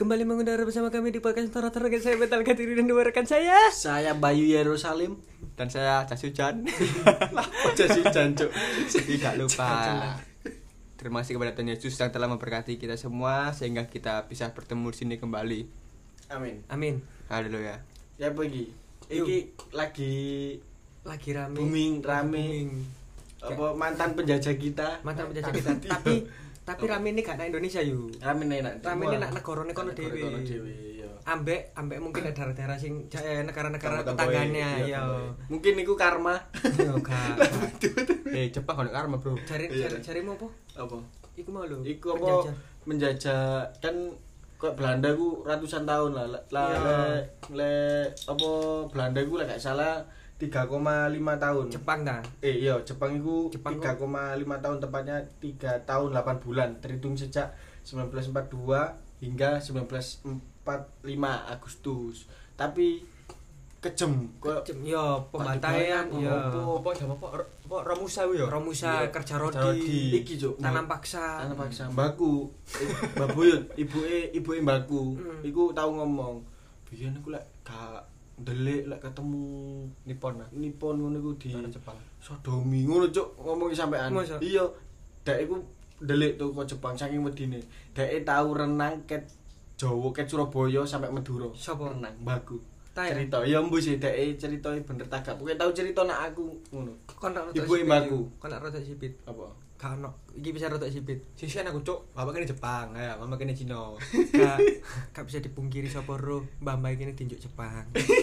kembali mengudara bersama kami di podcast Tora-Tora. Saya Betal Katiri dan dua rekan saya. Saya Bayu Yerusalim dan saya Casujan. Casujan, Cuk. Tidak lupa. Terima kasih kepada Tuhan Yesus yang telah memberkati kita semua sehingga kita bisa bertemu di sini kembali. Amin. Amin. Haleluya. Ya pergi. Iki lagi rame. Booming, rame. Apa mantan penjajah kita? Mantan penjajah kita. Tapi rame ini gak nak Indonesia yuk. Rame enak. Rame ini nak negara kono dhewe. Ya. Ambek mungkin ada daerah-daerah sing negara-negara tetangganya ya. Mungkin iku karma. Yo gak. Jepang ono karma, Bro. Carimu apa? Apa? Iku mau lho. Iku apa? Menjajah kan kok Belanda ku ratusan tahun lah. Le apa Belanda ku lek gak salah 3,5 tahun. Jepang ta? Iya, Jepang iku 3,5 kok? tahun, tepatnya 3 tahun 8 bulan terhitung sejak 1942 hingga 1945 Agustus. Tapi kejem kok yo pembantaian yo. Apa Romusa yo. Romusa kerja rodi. Iki Cuk, tanam paksa. Mbakku. Mbak Buyut, ibuke mbakku. Iku tau ngomong, "Biyen aku lek gak ndelik lek ketemu Nippon ngono iku di Jepang. Sodomi ngono Cuk, ngomong sampean. Masa? Iya. Dek iku ndelik tuh kok Jepang saking wedine. Dek tau renang ket Jawa ket Surabaya sampai Madura. Sapa? Renang mbakku. Ta ya? Cerita ya mbu sih dek ceritane bener tagak. Pokoke tau cerita nak aku ngono. Kon nak Ibu mbakku. Kon nak rotok sipit. Apa? Gak ono. Iki bisa rotok sipit. Sisian aku, Cuk. Bapak kene Jepang, ya, mama kene Cina. Gak bisa dipungkiri sapa ro, mbah-mbah iki tinjuk Jepang.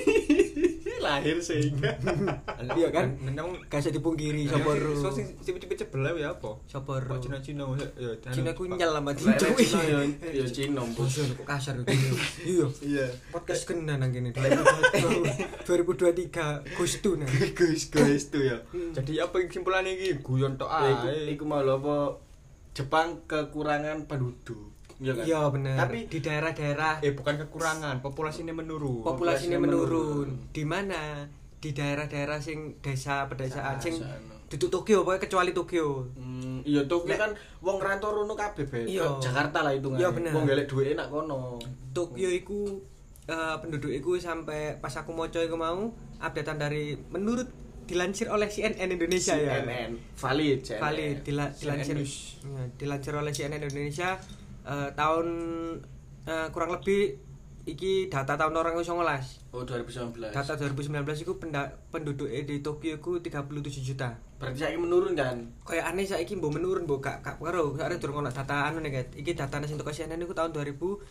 Lahir sehingga. Iya kan? Memang Gak bisa dipungkiri sapa ro. so sing cepet sebelah ya apa? Sapa ro? Cina ya. Cina ku nyel sama tinjuk. Cina ya Cina bos. Kok kasar itu. Iya. Iya. Podcast kena nang kene 2023 Gustu nang. Guys tuh ya. Jadi apa kesimpulannya iki? Guyon tok ae. Iku mau lho apa Jepang kekurangan penduduk. Iya kan? Iya bener. Tapi di daerah-daerah Bukan kekurangan, populasinya menurun. populasinya menurun. Di mana? Di daerah-daerah sing desa pedesaan sing duduk Tokyo pokoknya kecuali Tokyo. Iya Tokyo kan wong rantau rono kabeh be. Iya. Jakarta lah hitungane. Iya, bener. Wong golek duwike nak kono. Tokyo iku penduduk iku sampai pas aku maca iku mau updatean dari menurut dilansir oleh CNN Indonesia ya. CNN. Valid CNN. Valid dilansir CNN. dilansir oleh CNN Indonesia tahun kurang lebih iki data tahun 2019. Oh 2019. Data 2019 iku penduduk di Tokyo iku 37 juta. Berarti saiki menurun kan? Kayak aneh saiki mbok menurun mbok gak karo soalnya durung ono data anu nih guys. Iki datane sing teko CNN iku tahun 2019.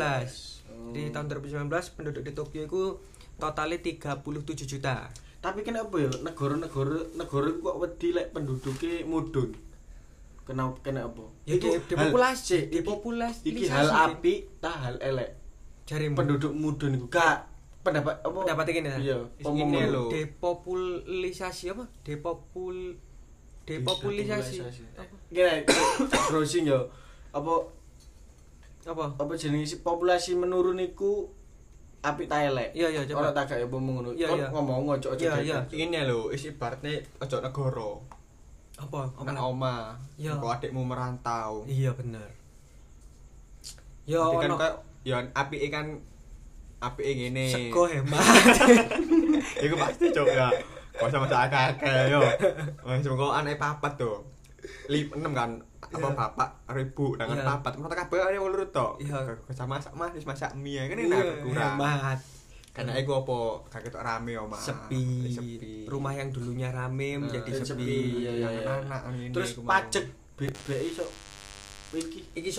Di tahun 2019 penduduk di Tokyo iku totalnya 37 juta. Tapi kenapa ya negara kok wedi lek penduduke mudhun? Kenapa? Ya Iku depopulasi. Iki hal apik ta hal elek? Jarimu Penduduk mudhun iku gak pendapat apa? pendapat iki ta? Iya, Ini lho. Depopulisasi apa? Depopulisasi. Gini, browsing ya. Apa jenenge populasi menurun iku apik ta elek? Iya, coba. Ora tak gak ya apa ngono. Iya, Kon iya. ngomong ojo Iya. Ini lho, isi ibaratnya ojo negara. Apa Nang oma. Iya. Kok adikmu merantau. Iya bener. Ya Jadi kan ono kayak ya apike ngene. sego hemat. Iku pasti Cuk ya. Kok sama akeh yo. Wis mengko anak papat to. 6 kan apa bapak 1000 dengan Iya. papat. Mata kabeh ayo lurut to. Iya. Sama masak Mas, wis masak mie kan enak kurang. Hemat. Karena iku apa gak ketok rame omah. Sepi. Sepi. Rumah yang dulunya rame menjadi sepi. Iya. Anak ini. Terus pajak BI iso iki Iki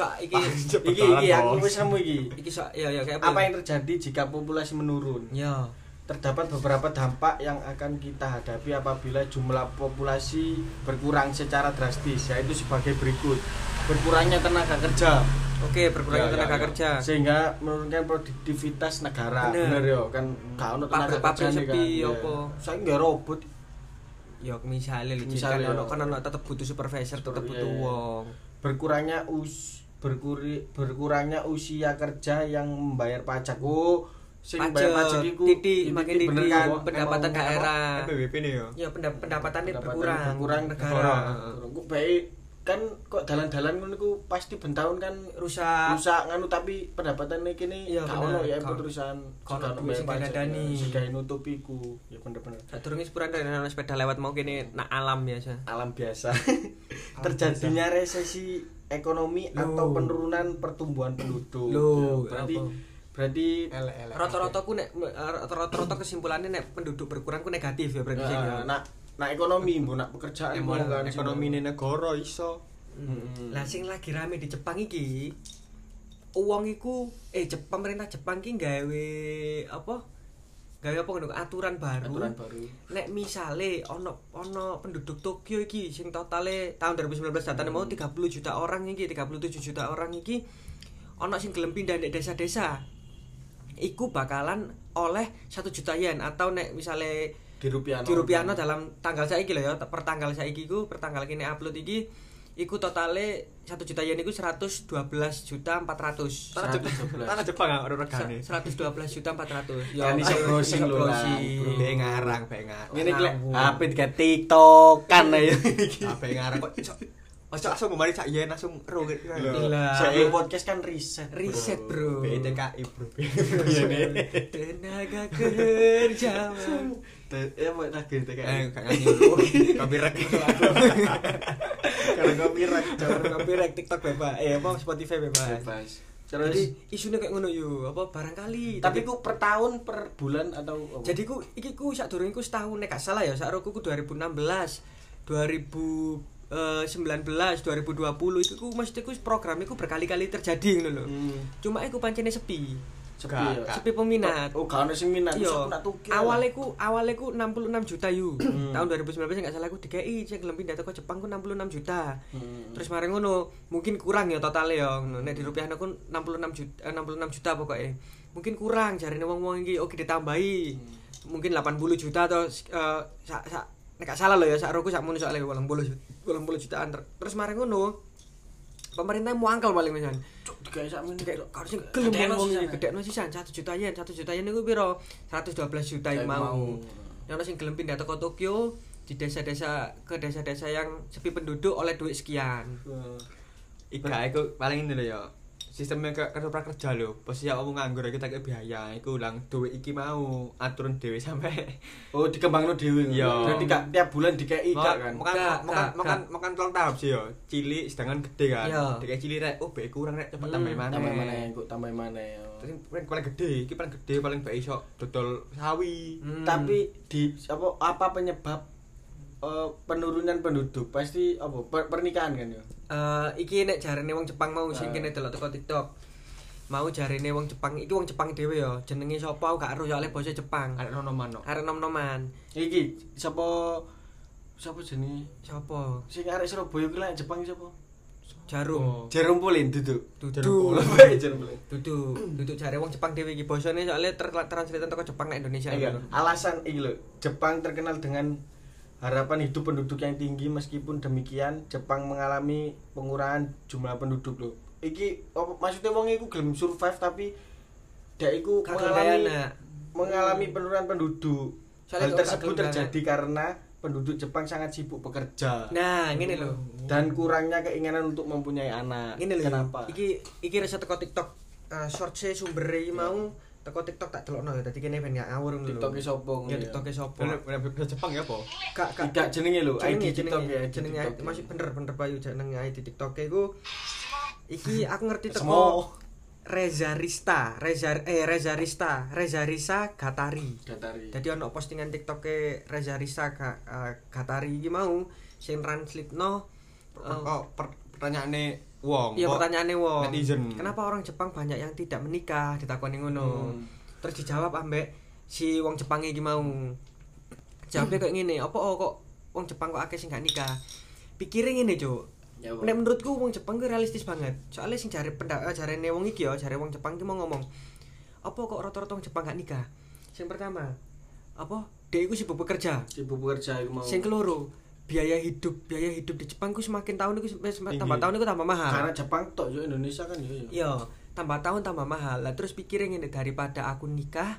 aku wis nemu iki. Iki ya kayak Apa yang terjadi jika populasi menurun? Ya. Terdapat beberapa dampak yang akan kita hadapi apabila jumlah populasi berkurang secara drastis, yaitu sebagai berikut. Berkurangnya tenaga kerja. Oke, berkurangnya tenaga kerja. Sehingga menurunkan produktivitas negara. Bener ya, kan gak ono tenaga Pabrik kerja sepi kan. apa? Saiki nggak robot. Ya misalnya kan ono tetep butuh supervisor, tetep butuh wong. Berkurangnya usia kerja yang membayar pajak. Oh, sing bayar pajak iku makin bener titik kan pendapatan daerah. PBB nih yo. Ya pendapatannya berkurang negara. Kok bae kan kok dalan-dalan ngono iku pasti bentahun kan rusak nganu tapi pendapatane kene Iya, gak ono ya bener. perusahaan Kono duit sing diladani. sing nutupiku ya bener-bener sadurunge sepuran dari sepeda lewat mau kene nak alam biasa. alam biasa terjadinya resesi ekonomi atau penurunan pertumbuhan penduduk. Loh, Ya, apa? berarti elek-elek. Rata-rata ku nek rata-rata kesimpulannya nek penduduk berkurang ku negatif ya berarti sing ya. nak ekonomi mbok nak pekerjaan Emang mbok kan ekonomi ini negara iso. Lah sing lagi rame di Jepang iki uang iku pemerintah Jepang ki gawe apa ngono aturan baru. Nek misale ono penduduk Tokyo iki sing totale tahun 2019 datane mau 30 juta orang iki 37 juta orang iki ono sing gelem pindah nek desa-desa. Iku bakalan oleh 1 juta yen atau nek misale di rupiah dalam tanggal saiki lho ya, per tanggal saiki iku, per tanggal kene upload iki iku totale 1 juta yen iku 112.400.000. Tanah Jepang gak ora regane. 112.400.000. Kan iso browsing lho lah. Be ngarang. Ngene iki lek HP diga TikTok-an ae iki. Be ngarang kok iso. Ojo langsung kemarin sak yen langsung ro gitu. Saya podcast kan riset bro. BTKI bro. Tenaga kerja. Mau lagi TKI. Gak nyanyi. Copyright. Kalau Copyright TikTok bebas. Apa Spotify bebas. Terus Jadi isunya kayak ngono yo, apa barangkali. Tapi ku per tahun, per bulan atau apa? Jadi ku iki ku sadurunge ku setahun nek gak salah ya, sakroku ku 2016, 2019, 2020 itu ku mesti ku program iku berkali-kali terjadi ngono lho. Cuma iku pancene sepi peminat. Oh, gak ono sing minat. Iya. Nak tuki. Awale ku 66 juta yu. Tahun 2019 enggak salah ku DKI sing gelem pindah teko Jepang ku 66 juta. Terus mari ngono, mungkin kurang ya totale ya. Nek di rupiah ku 66 juta pokoknya. Mungkin kurang jarine wong-wong iki oke ditambahi. Mungkin 80 juta atau nek gak salah lho ya sak roku sak muni soalnya 80 jutaan. Terus mari ngono, pemerintah muangkel paling misalnya. Digawe sak menit. Harus gelem wong iki gedekno sisan 1 juta yen. 1 juta yen niku piro? 112 juta mau. Yang sing gelem pindah teko Tokyo di desa-desa ke desa-desa yang sepi penduduk oleh duit sekian. Iku paling ini lho ya. Sistemnya kartu prakerja lho. Posisi awakmu nganggur iki tak biaya, iku ulang duit iki mau aturan dhewe sampai dikembangno dhewe. Berarti gak tiap bulan dikei kan. Makan tolong tahap sih ya. Cilik sedangkan gede kan. Dikei cilik rek, be kurang rek cepet tambah maneh. Tambah maneh. Terus paling gede, iki paling gede paling bae iso dodol sawi. Tapi di apa penyebab penurunan penduduk? Pasti pernikahan kan ya. Iki nek jarene wong Jepang mau sing kene delok teko TikTok. Mau jarene wong Jepang, iki wong Jepang dhewe ya. Jenenge sapa aku gak ero soalé basa Jepang. Arek nom-noman. Iki sapa jenenge? Sapa? Sing arek Surabaya kuwi lek Jepang sapa? Jarum Pulin duduk. Duduk jare wong Jepang dhewe iki basane soalé translate teko Jepang nek Indonesia. Alasan iki lho, Jepang terkenal dengan harapan hidup penduduk yang tinggi. Meskipun demikian, Jepang mengalami pengurangan jumlah penduduk lho. Iki maksudnya wong iku gelem survive tapi dia iku mengalami penurunan penduduk. Hal tersebut terjadi karena penduduk Jepang sangat sibuk bekerja. Nah, ngene lho. Dan kurangnya keinginan untuk mempunyai anak. Ngene lho. Kenapa? Iki riset teko TikTok. Short-e sumbere iki mau teko TikTok tak delokno ya. Dadi kene ben gak ngawur ngono lho. TikTok-e sapa ngono. Ya TikTok-e sapa? Bener Jepang ya apa? Gak jenenge lho, ID TikTok ya. Jenenge masih bener Bayu jenenge ID TikTok-e iku. Iki aku ngerti teko Reza Risa Gatari. Jadi ono postingan TikTok-e Reza Risa Gatari iki mau sing translate-no pertanyaane wong. Iya, pertanyaane wong. Netizen. Kenapa orang Jepang banyak yang tidak menikah? Ditakoni ngono. Terus dijawab ambek si wong Jepang iki mau. Jawabnya kayak ngene, apa kok wong Jepang kok akeh sing gak nikah? Pikire ngene, Cuk. Nek menurutku wong Jepang ku realistis banget. Soalnya sing jarene wong iki ya, jare wong Jepang iki mau ngomong, apa kok rata-rata wong Jepang gak nikah? Sing pertama, apa? Dhek iku sibuk bekerja iku mau. Sing keloro, biaya hidup di Jepang ku semakin tahun iku tambah tahun iku tambah mahal. Karena Jepang tok yo Indonesia kan yo. Iya, tambah tahun tambah mahal. Lah terus pikire ngene, daripada aku nikah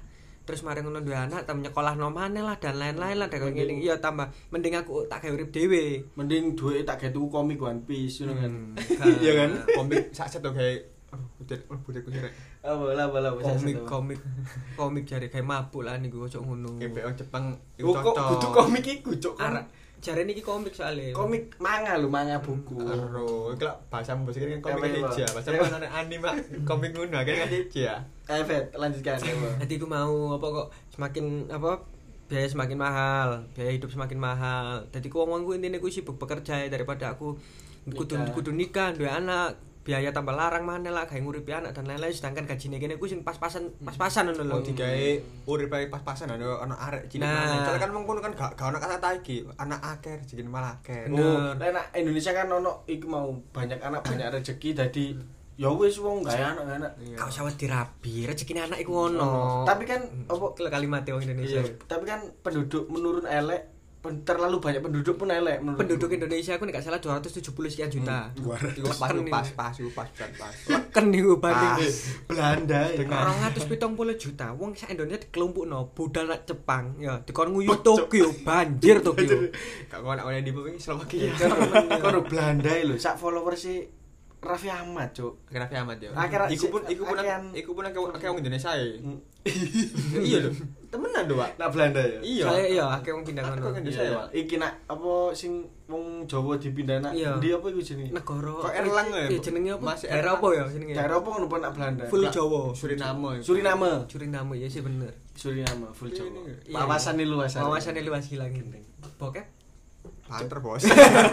terus mari ngono duwe anak tambah nyekolah nomane lah dan lain-lain lah kayak ngene iya tambah mending aku tak gawe urip dhewe mending duwe tak gawe tuku komik One Piece ngono kan iya kan komik sak set to gawe budetku sirek apa komik jare gawe mabuk lah niku ojo ngono GPO Jepang kok kudu komik iku cuk jare niki komik soalnya komik manga buku karo iki lak bahasa bahasa kan komik aja bahasa mana anime komik ngono kan aja evet lanjutkan jadi aku mau apa kok semakin apa biaya semakin mahal biaya hidup semakin mahal jadi ku wong-wong ku intine ku sibuk bekerja daripada aku kudu nikah duwe anak biaya tambah larang maneh lah gawe nguripi anak dan lain-lain sedangkan gajine kene ku sing pas-pasan ngono lho digawe uripe pas-pasan ana arek cilik maneh soalnya kan mengkono kan gak ono kata iki anak akeh rezeki malah akeh enak Indonesia kan ono iku mau banyak anak banyak rezeki dadi ya wis wong gawe anak kau sawet dirabi rezekine anak iku ono tapi kan apa kalimat wong Indonesia tapi kan penduduk menurun elek terlalu banyak penduduk pun elek menurut penduduk Indonesia aku nek gak salah 270 sekian juta. Iku pas Leken niku banding Belanda dengan 270 juta. Wong sak Indonesia dikelompokno budal nak Jepang ya dikon nguyu Tokyo banjir Tokyo. Gak kono oleh di wingi Slovakia. Kono Belanda lho sak followers Raffi Ahmad, Cuk. Raffi Ahmad ya. Iku pun akeh wong Indonesia ya. Iya lho. Temenan lho, Pak. Nak Belanda ya. Iya. Saya iya akeh wong pindah ngono. Indonesia ya, Pak. Iki nak apa sing wong Jawa dipindah nak ndi apa iku jenenge? Negara. Kok Erlang ya? Iya jenenge apa? Masih Daerah apa ya jenenge? Daerah apa ngono nak Belanda? Full Jawa. Suriname ya sih bener. Suriname full Jawa. Iya. Wawasannya luas. Wawasannya luas gila gini. Bokep Banter, Bos.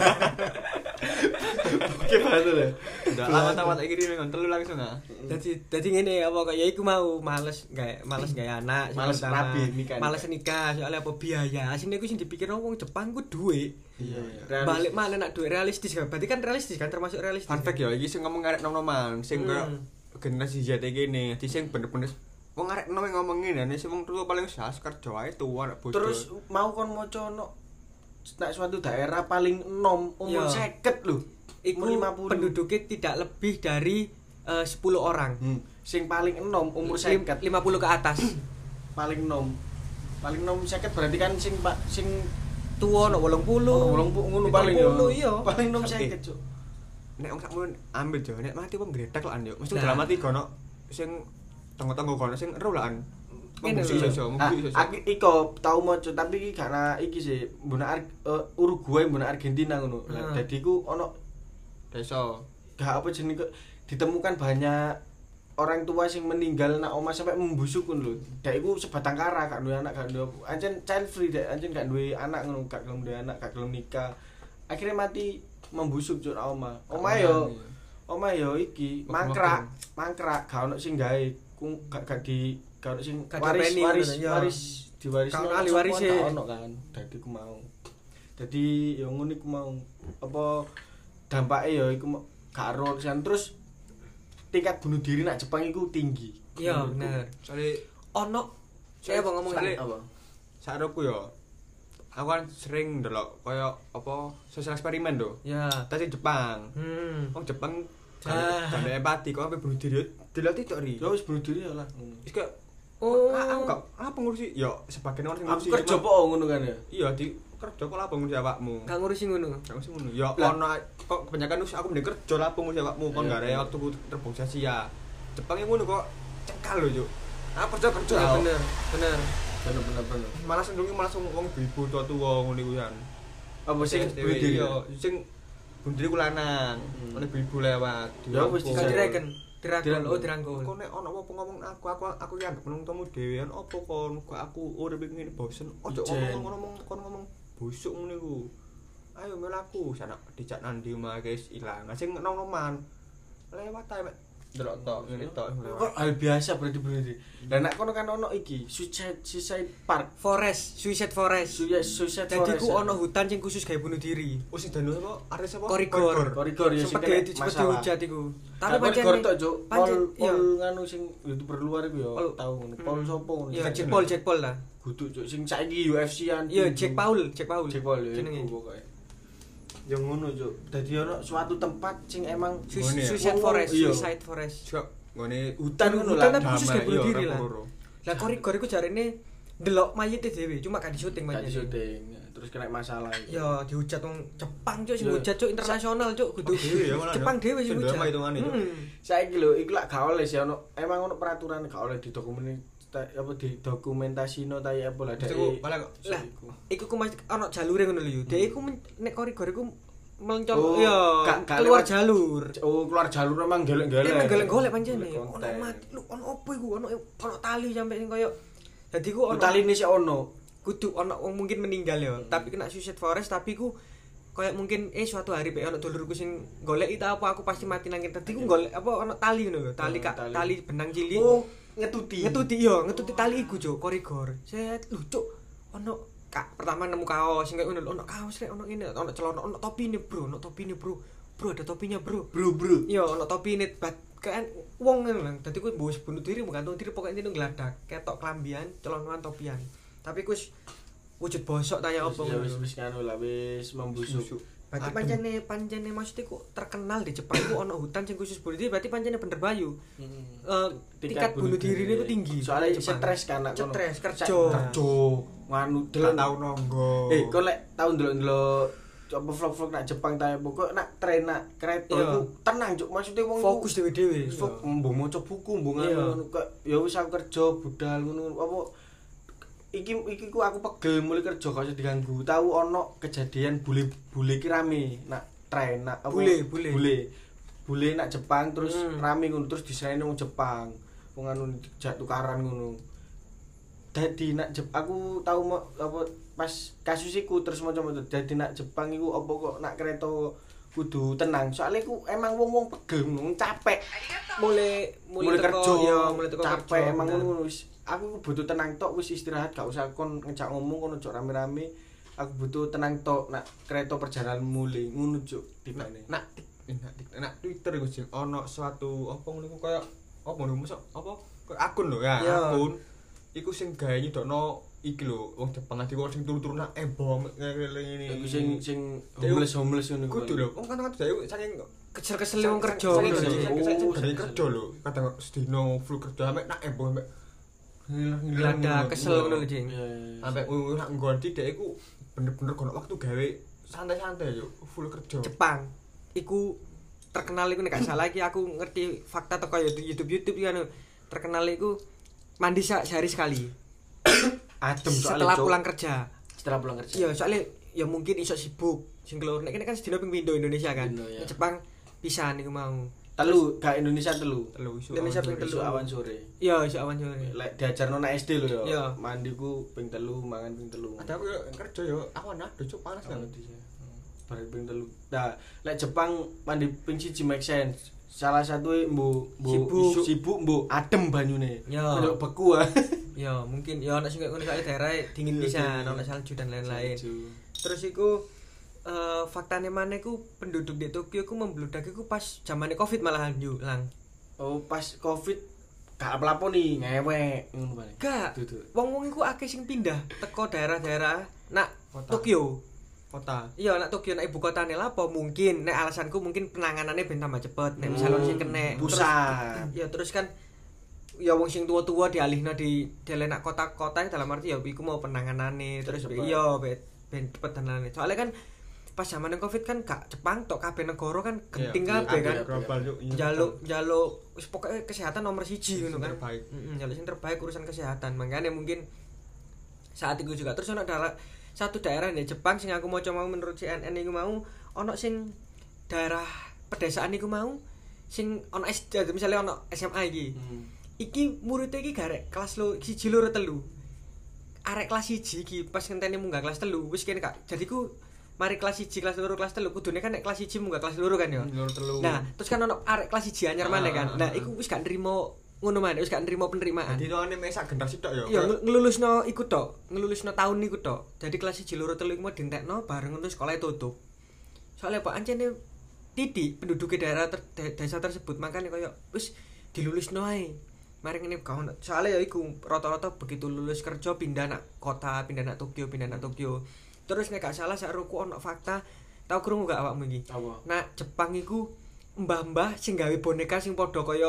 Oke, bantu ya. Udah lama-lama iki dhewe ngontelu langsung ah. Dadi ngene apa kok ya iku mau males gawe anak, males rabi nikah. Males nikah soalnya apa biaya. Asine iku sing dipikir wong Jepang ku duit. Iya. Balik mana nak duit realistis kan. Berarti kan realistis kan termasuk realistis. Fun fact ya iki sing ngomong arek nom-noman, sing koyo generasi Z iki ngene, sing bener-bener wong arek nom ngomong ngene, sing wong tuwa paling sas kerja ae tuwa anak bodoh. Terus mau kon maca nak suatu daerah paling enom umur 50 lho. Iku penduduknya tidak lebih dari 10 orang. Sing paling enom umur 50 ke atas. Paling enom 50 berarti kan sing tuwa ono 80. Ngono paling yo. Iya. Paling enom 50, Cuk. Nek wong sakmono ambil jo, nek mati wong gredek lan yo. Mesti dalam mati kono sing tanggo-tanggo kono sing ero lan. Aku iko tau maca tapi iki karena iki sih mbuna Uruguay mbuna Argentina ngono. Dadi ku ono desa gak apa jenenge ditemukan banyak orang tua sing meninggal nak omah sampai membusuk ngono lho. Dek iku sebatang kara gak duwe anak gak duwe ancen child free dek ancen gak duwe anak ngono gak gelem duwe anak gak gelem nikah. Akhirnya mati membusuk cuk omah. Omah yo iki mangkrak gak ono sing gawe gak di kalau sing waris diwaris ahli waris ono kan dadi ku mau dadi ya ngono iku mau apa dampake ya iku gak ero kesan terus tingkat bunuh diri nak Jepang iku tinggi iya bener soalnya ono saya apa ngomong apa saroku ya aku kan sering ndelok kaya apa sosial eksperimen do ya tadi Jepang wong Jepang jane empati kok sampe bunuh diri dilatih tok ri ya wis bunuh diri ya lah wis kok aku gak apa ngurusi ya sebagian orang sing ngurusi kerja kok ngono kan ya iya di kerja kok lah ngurusi awakmu gak ngurusi ngono ya ono kok kebanyakan aku mending kerja lah ngurusi awakmu kon gak ada waktu terbang sia-sia Jepang ngono kok cekal lho juk aku kerja bener malah sendiri malah wong ibu tua-tua ngono iku kan apa sing bunuh diri sing bunuh diri ku lanang oleh ibu lewat ya wis dirangkul. Kok nek ono apa ngomong aku ya penontonmu dhewean opo kon kok aku urip ngene bosen ojo ngomong busuk ngene iku. Ayo melaku sana dijak nandi omah guys ilang. Sing nom-noman lewat ae mek delok tok ngene tok. Kok hal biasa berarti bunuh diri. Lah nek kono kan ono iki suicide park suicide forest. Jadi ku ono hutan sing khusus gawe bunuh diri. Oh sing danu apa? Artis apa? Korigor ya sing dihujat iku. Tapi pancen tok, Cuk. Pol nganu sing YouTuber luar iku ya tau ngono. Pol sopo ngono. Ya Jack Paul lah. Kudu Cuk sing saiki UFC-an. Iya Jack Paul jenenge pokoke. Yang ngono Cuk. Dadi ono suatu tempat sing emang suicide forest. Cuk, ngene hutan ngono lah. Hutan khusus gawe bunuh diri lah. Lah korigor iku jarene ndelok mayite dhewe, cuma gak syuting Gak mayite. syuting. Terus kena masalah iki. Ya dihujat wong Jepang cuk, sing Yo. hujat cuk internasional cuk, kudu Dhewe ya malah. Jepang dhewe sing hujat. Drama hitungane, Cuk. Saiki lho iku lak gak oleh sih emang ono peraturan gak oleh didokumentasino ta apa lah Iku malah kok Lah, iku ku mesti ana jalure ngono lho. Dek iku nek korigor iku mencol Oh, ya gak keluar lewat- jalur. Oh, keluar jalur emang gelek-gelek. Emang golek-golek pancene. Golek Ono konten. mati, lu ono opo iku? Ono tali sampe sing koyo dadi ku ono Taline sih ono. kudu ono wong mungkin meninggal ya, tapi kena suicide forest tapi ku kayak mungkin suatu hari pe ono dulurku sing golek itu apa aku pasti mati nang kene. Dadi ku golek apa ono tali ngono lho, tali Tali. tali benang cilik. Oh, ngetuti. Ngetuti tali iku cuk, korigor. Set lu cuk ono pertama nemu kaos sing kayak ngono lho, ono kaos rek ono ngene, ono celana, ono topine bro, ono topine bro. Bro ada topinya bro. Bro. Iya ono topine kan wong ngono lho. Dadi ku mbok bunuh diri gantung diri pokoknya itu ngladak, ketok klambian, celonan topian. Tapi ku wujud bosok tanya apa Ya ngono. wis anu lah wis membusuk. Berarti Adem. pancene maksudnya kok terkenal di Jepang ku ono hutan sing khusus bunuh diri, berarti pancene bener bayu. Tingkat bunuh diri ini ku tinggi. Soalnya Jepang. stres kan nak kono. Stres, kerja. Kerja nganu delok delok. tau nonggo. Kok lek tau ndelok coba vlog-vlog nak Jepang ta apa kok nak tren nak kereta Iya. iku tenang cuk maksudnya wong iku Fokus dewe-dewe. mbok maca buku mbok Iya. ngono kok ya wis aku kerja budal ngono apa iki ku aku pegel mulai kerja gak usah diganggu. Tahu ono kejadian bule ki rame nak tren nak apa bule nak Jepang terus rame ngono terus disereni wong Jepang. Wong anu jak tukaran ngono. Dadi nak aku tahu apa pas kasus iku terus macam-macam dadi nak Jepang iku apa kok nak kereta kudu tenang soalnya ku emang wong-wong pegel wong capek mulai kerja ya mulai teko capek kerja, emang bener. ngono wis aku butuh tenang tok wis istirahat gak usah kon ngejak ngomong kon ojo rame-rame aku butuh tenang tok nak kereta perjalanan mulai ngono cuk tipane Nak Twitter iku sing ono suatu apa ngono iku koyo apa ngono mosok apa koyo akun lho ya, Iya. akun iku sing gawe nyidokno iki lho wong Jepang ati kok sing turu-turu nak bom ngene iku sing homeless ngono kudu lho wong kan dhewe saking kesel-kesel wong kerja saking ngono lho. saking kerja lho kadang sedino full kerja sampe nak bom sampe Glada kesel ngono lho jing. sampe nak nggonti dhek iku bener-bener kono waktu gawe santai-santai yo full kerja Jepang iku terkenal iku nek gak salah iki aku ngerti fakta teko YouTube kan terkenal iku mandi sehari sekali adem setelah Cuk. pulang kerja. Setelah pulang kerja Iya, soalnya ya mungkin iso sibuk sing keluar. Nek kene kan sedina ping pindho Indonesia kan. Pindho, ya. Nek Jepang pisan iku mau. telu gak Indonesia telu isu Indonesia awan ping sore. isu awan sore Iya, iso awan sore. lek diajarno nak SD lho Iya. ya mandi ku ping 3 mangan ping 3 ada aku yo kerja yo awan nah cuk panas kan bareng ping 3 nah lek Jepang mandi ping 1 make sense salah satu sibuk mbok adem banyune Ya. Kalau beku ah Ya, mungkin ya nek sing kono soalnya daerah dingin pisan, ono salju dan lain-lain. Terus iku faktane maneh ku penduduk di Tokyo ku membludak iku pas zamane Covid malahan yo lang. oh pas Covid gak apa-apa nih ngewek ngono bae Gak. Duduk. Wong-wong iku akeh sing pindah teko daerah-daerah nak Kota. Tokyo. kota Iya, nak Tokyo nak ibu kotane lah apa mungkin nek alasanku mungkin penanganannya ben tambah cepet nek misalnya sing kena pusat ya terus kan ya wong sing tua-tua dialihno di nak kota-kota dalam arti ya iku mau penanganane terus Cepet. iya ben cepet dan lain-lain. Soalnya kan pas zaman Covid kan gak Jepang tok kabeh negara kan genting Iya, kabeh kan. iya, global yuk Jaluk wis pokoke kesehatan nomor 1 ngono kan. terbaik. Jaluk sing terbaik urusan kesehatan. Makanya mungkin saat itu juga terus ono satu daerah di Jepang sing aku maca mau menurut CNN iku mau ono sing daerah pedesaan iku mau sing ono SD misalnya ono SMA iki. Iki muridnya iki garek kelas 1 loro 3. Arek kelas 1 iki pas ngenteni munggah kelas 3 wis kene Kak. Jadi ku mari kelas 1 kelas 2 kelas 3 kudune kan nek kelas 1 munggah kelas 2 kan ya. Loro telu. Nah, terus kan ono arek kelas 1 anyar maneh kan. Nah, iku wis gak nrimo ngono maneh, wis gak nrimo penerimaan. Jadi tuane mesak generasi tok yo. Ya ngelulusno iku tok, ngelulusno tahun niku tok. Jadi kelas 1 loro 3 iku mau dientekno bareng ngono sekolah tutup. Soalnya Pak ancene titik penduduk daerah desa tersebut makanya koyo wis dilulusno ae. Mari ngene kawan. Soalnya ya iku rata-rata begitu lulus kerja pindah nak kota, pindah nak Tokyo. Terus nek gak salah sak roku ono fakta, tau krungu gak awakmu iki? apa Nah, Jepang iku mbah-mbah sing gawe boneka sing padha kaya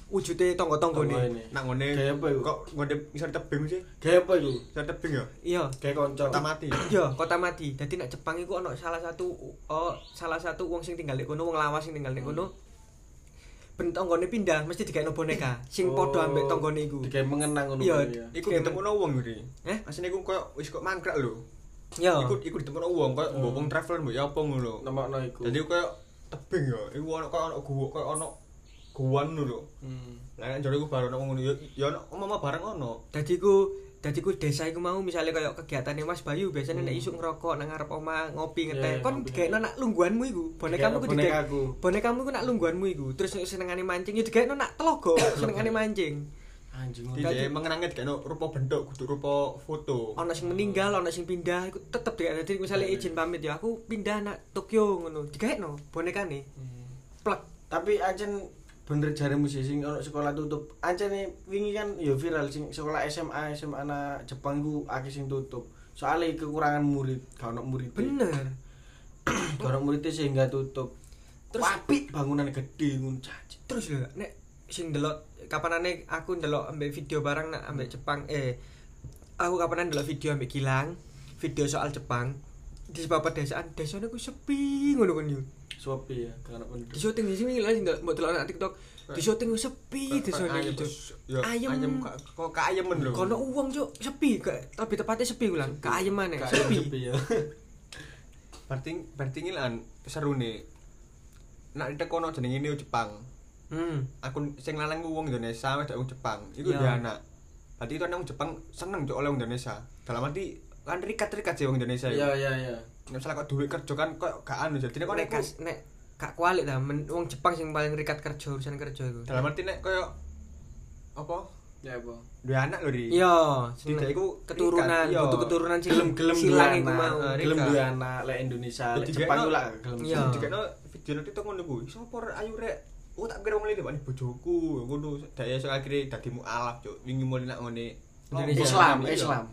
wujude tangga-tanggane. Nak ngene Kayak apa iku? kok ngene iso tebing sih? Kayak apa iku? Iso tebing ya? Iya. Kayak kanca. Kota mati. Iya, kota mati. Dadi nek Jepang iku ana salah satu wong sing tinggal di kono, wong lawas sing tinggal di kono. Ben tanggane pindah mesti digawe boneka sing padha ambek tanggane iku. Digawe mengenang ngono. Iya, Iku ditemuno wong iki. Asine iku koyo wis kok mangkrak lho. Iya. Iku ditemuno wong koyo mbok wong traveler mbok ya apa ngono. Nemokno iku. Dadi koyo tebing ya. Iku ono koyo ono gua koyo ono guwan ngono lho. Lah nek jare iku baru ono ngono ya ono omah bareng ono. Dadi ku desa iku mau misale kaya kegiatane Mas Bayu biasanya nek isuk ngerokok nang ngarep omah ngopi ngeteh kon digaekno nak lungguhanmu iku bonekamu ku bonekamu ku nak lungguhanmu iku terus senengane mancing ya digaekno nak telogo senengane mancing anjing Dadi mengenange digaekno rupa bentuk kudu rupa foto ana sing meninggal ana sing pindah iku tetep digaekno dadi misale izin pamit ya aku pindah nak Tokyo ngono digaekno bonekane plek tapi ancen bener jaremu sih sing ono sekolah tutup. Ancene wingi kan ya viral sing sekolah SMA anak Jepang ku akeh sing tutup. Soale kekurangan murid, gak ono murid. Bener. Gak ono murid sehingga tutup. Terus apik bangunan gede ngono caci. Terus lho nek sing delok kapanane aku ndelok ambek video barang nak ambek Jepang aku kapanan ndelok video ambek Gilang, video soal Jepang. Di sebab pedesaan, desane ku sepi ngono kan yo. Sopi ya, karena penduduk. Di syuting di sini lah sing mbok delok nang TikTok. Di syuting ku sepi desane itu. Ayem kok kayemen lho. Kono uang cuk, sepi lebih tepatnya sepi ulang. Kaayeman ya, sepi. ya. Berarti ngilan serune. Nak ditekono jenenge Neo Jepang. Aku sing lanang ku wong Indonesia wedok wong Jepang. Iku dia anak. Berarti itu wong Jepang seneng cuk oleh wong Indonesia. Dalam arti kan rikat-rikat sih wong Indonesia. Iya. Nek salah kok duit kerja kan kok gak anu jadi nek gak kualik ta wong Jepang sing paling rikat kerja urusan kerja iku. Dalam arti nek koyo apa? Ya apa? Duwe anak lho Ri. Iya, tidak iku keturunan, butuh keturunan sing gelem silang iku mau. Gelem duwe anak lek Indonesia, lek Jepang ku lak gelem. Iya. Dikene video nanti to ngono ku. Sopo ayu rek. Oh tak kira wong lili bani bojoku ngono. Dak iso akhire dadi mualaf cuk. Wingi mulai nak ngene Islam.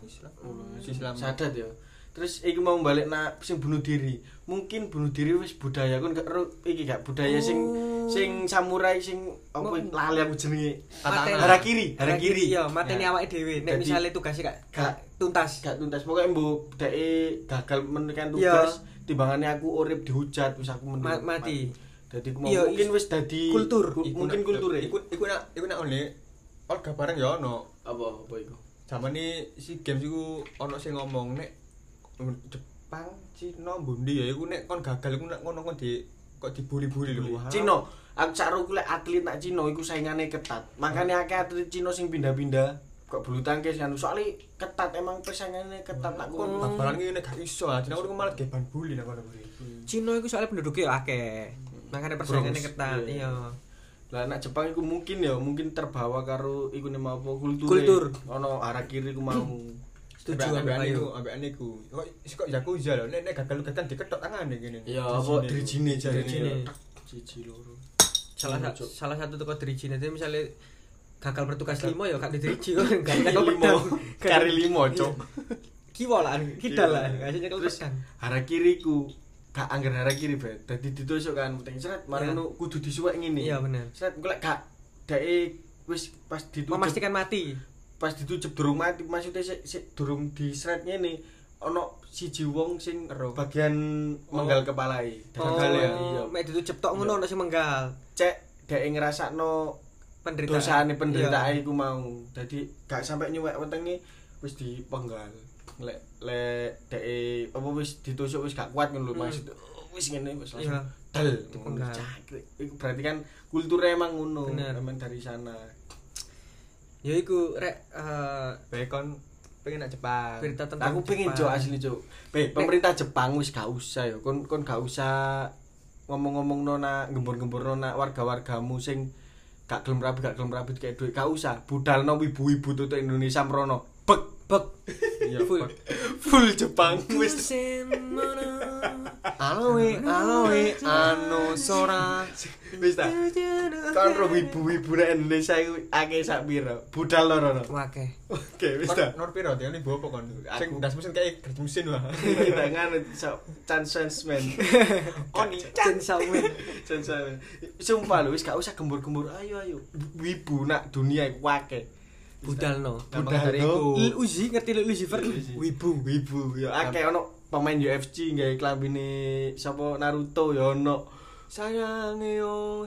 Sadat ya. Terus iki mau balik nak sing bunuh diri. Mungkin bunuh diri wis budaya kon gak iki gak budaya sing samurai sing apa lali aku jenenge. Harakiri. Iya, mateni awake dhewe. Nek misale tugasnya gak tuntas. Pokoke mbok deke gagal menekan tugas, timbangane aku urip dihujat wis aku mati. Dadi mungkin wis dadi kultur. Mungkin kulture. Iku nak oleh olga bareng ya ono. Apa iku? Zamane si games iku ono sing ngomong nek Jepang, Cina, Bundi ya iku nek kon gagal iku nek ngono kon kok dibuli-buli lho. Cina, aku saruku lek atlet nak Cina iku saingane ketat. Makane akeh atlet Cina sing pindah-pindah kok bulu tangkis kan soalnya ketat emang persaingannya ketat nak kon. Babalan iki nek gak iso, Cina iku malah ge ban bully nek kono kuwi. Cina iku soalnya penduduknya akeh. Makane persaingannya ketat. Iya. Lah nek Jepang iku mungkin terbawa karo iku nema apa kultur. Ono harakiri ku mau. Setuju ambek aniku. Kok Yakuza lho nek gagal gatan diketok tangane kene. Ya apa drijine jarine. Siji loro. Salah satu toko drijine itu misalnya gagal bertugas 5 ya gak diriji kok gak nyekel pedang. Kari 5 cok. Kiwa lah, kita lah, gak nyekel pedang. Harakiri ku gak angger harakiri bet. Dadi ditusuk kan penting seret marano kudu disuwek ngene. Iya bener. Seret golek gak dake wis pas ditutup memastikan mati. Pas ditutup durung mati maksudnya sik durung disret ngene ono siji wong sing bagian menggal kepalai. Gagal ya. Iya. Mek ditutup tok ngono ono sing menggal. Cek dhek ngrasakno dosane penderitaan iku mau. Dadi gak sampai nyuwek wetenge wis dipenggal. Lek dhek apa wis ditusuk wis gak kuat ngono lho maksud. Wis ngene wis langsung del dipenggal. Iku berarti kan kulture emang ngono, emang dari sana. Ya iku rek Bekon pengen nak Jepang. Berita tentang aku pengen cok asli cok. Pemerintah Jepang wis gak usah ya. Kon gak usah ngomong-ngomongno nak gembur-gemburno nak warga-wargamu sing gak gelem rapi kayak duit gak usah. Budalno ibu-ibu tutuk Indonesia merono. Bek. Iya, full Jepang wis. aloe anu sora. Wis ta. Kon ro wibu-wibu nek Indonesia iku akeh sak pira? Budal loro. Wake. Oke, wis ta. Nor piro dia ini bawa apa kon? Sing das mesin kayak gaji mesin wah. Kita ngono Chansensman. Oni Jen Sawen. Chansensman. Sumpah lho wis gak usah gembur-gembur. Ayo. Wibu nak dunia iku akeh. Budalno. Budalno. Lil Uzi ngerti Lil Uzi Wibu ya akeh ono pemain UFC gawe klambine sapa Naruto ya ono. Sayangeo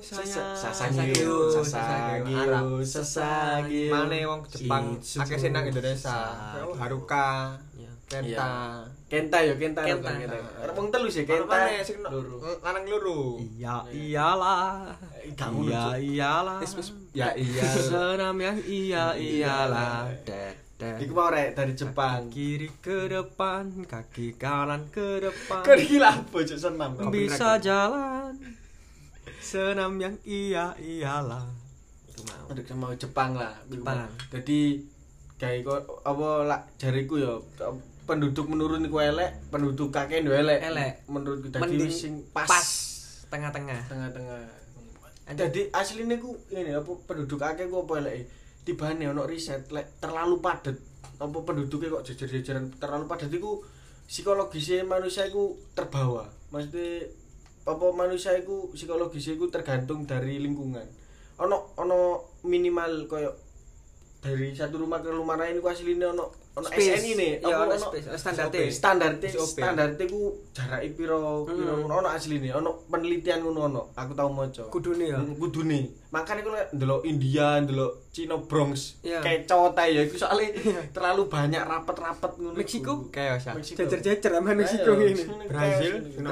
Sasageo. Mane wong Jepang akeh sing nang Indonesia. Haruka, Kenta. Wong telu sih Kenta. Lanang loro. Iyalah. Iyalah. Ya iya. Senam yang iyalah. Iku mau rek dari Jepang. Kiri ke depan, kaki kanan ke depan. Kok gila bocok senam. Bisa jalan. Senam yang iyalah. Itu mau. Aduh mau Jepang lah. Jepang. Jadi kayak kok apa lah jariku ya penduduk menurun iku elek, penduduk kakek yo elek. Menurutku dadi sing pas tengah-tengah. Jadi asline ku ngene apa penduduk akeh ku apa eleke? Tibane ono riset lek terlalu padet apa penduduknya kok jejer-jejeran terlalu padet iku psikologisnya manusia iku terbawa. Maksudnya apa manusia iku psikologisnya iku tergantung dari lingkungan. Ono minimal koyo dari satu rumah ke rumah lain iku asline ono SNI ne ya ono standarte ku jarake piro ono asline ono penelitian ngono aku tau maca kudune makane ku lek ndelok India ndelok Cina Bronx yeah. Kecot ya iku soalnya terlalu banyak rapet-rapet ngono Meksiko kayak ya jejer-jejer sama Meksiko ini Brazil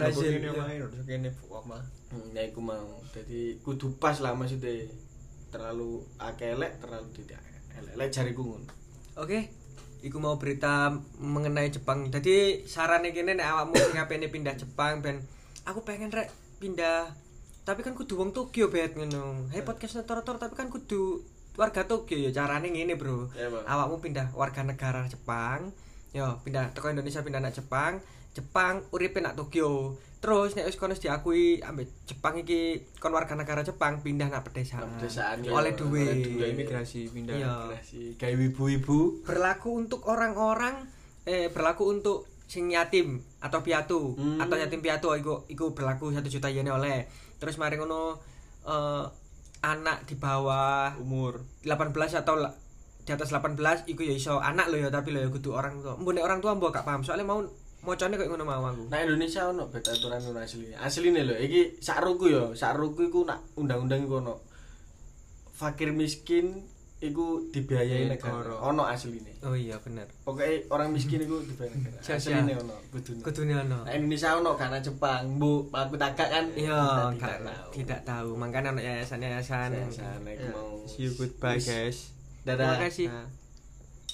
kene omah ya iku mau dadi kudu pas lah maksudnya terlalu akeh elek terlalu tidak elek jariku ngono. Oke. Iku mau berita mengenai Jepang. Jadi sarane kene nek awakmu sing ngapene pindah Jepang ben aku pengen rek pindah. Tapi kan kudu wong Tokyo bet ngono. Hey podcast tor-tor tapi kan kudu warga Tokyo ya carane ngene, Bro. Awakmu pindah warga negara Jepang. Yo pindah teko Indonesia pindah nak Jepang uripe nak Tokyo. Terus nek wis kono diakui ambek Jepang iki kon warga negara Jepang pindah nak pedesaan oleh duwe imigrasi pindah imigrasi gawe ibu-ibu berlaku untuk orang-orang berlaku untuk sing yatim atau piatu atau yatim piatu iku berlaku 1 juta yen oleh. Terus mari ngono anak di bawah umur 18 atau di atas 18 iku ya iso anak lho ya tapi lho ya kudu orang tua. Mbok nek orang tua mbok gak paham soalnya mau mocone koyo ngono mau aku. Nah Indonesia ono bet aturan ngono asline. Asline lho iki sakruku iku nak undang-undang iku ono. Fakir miskin iku dibiayai negara. Ono asline. Oh iya bener. Pokoke orang miskin iku dibiayai negara. Asline ono kudune ono. Nah Indonesia ono karena Jepang. Bu, aku takak kan. Iya, tidak tahu. Makanya ono yayasan iku mau. See you goodbye guys. Dadah. Terima kasih.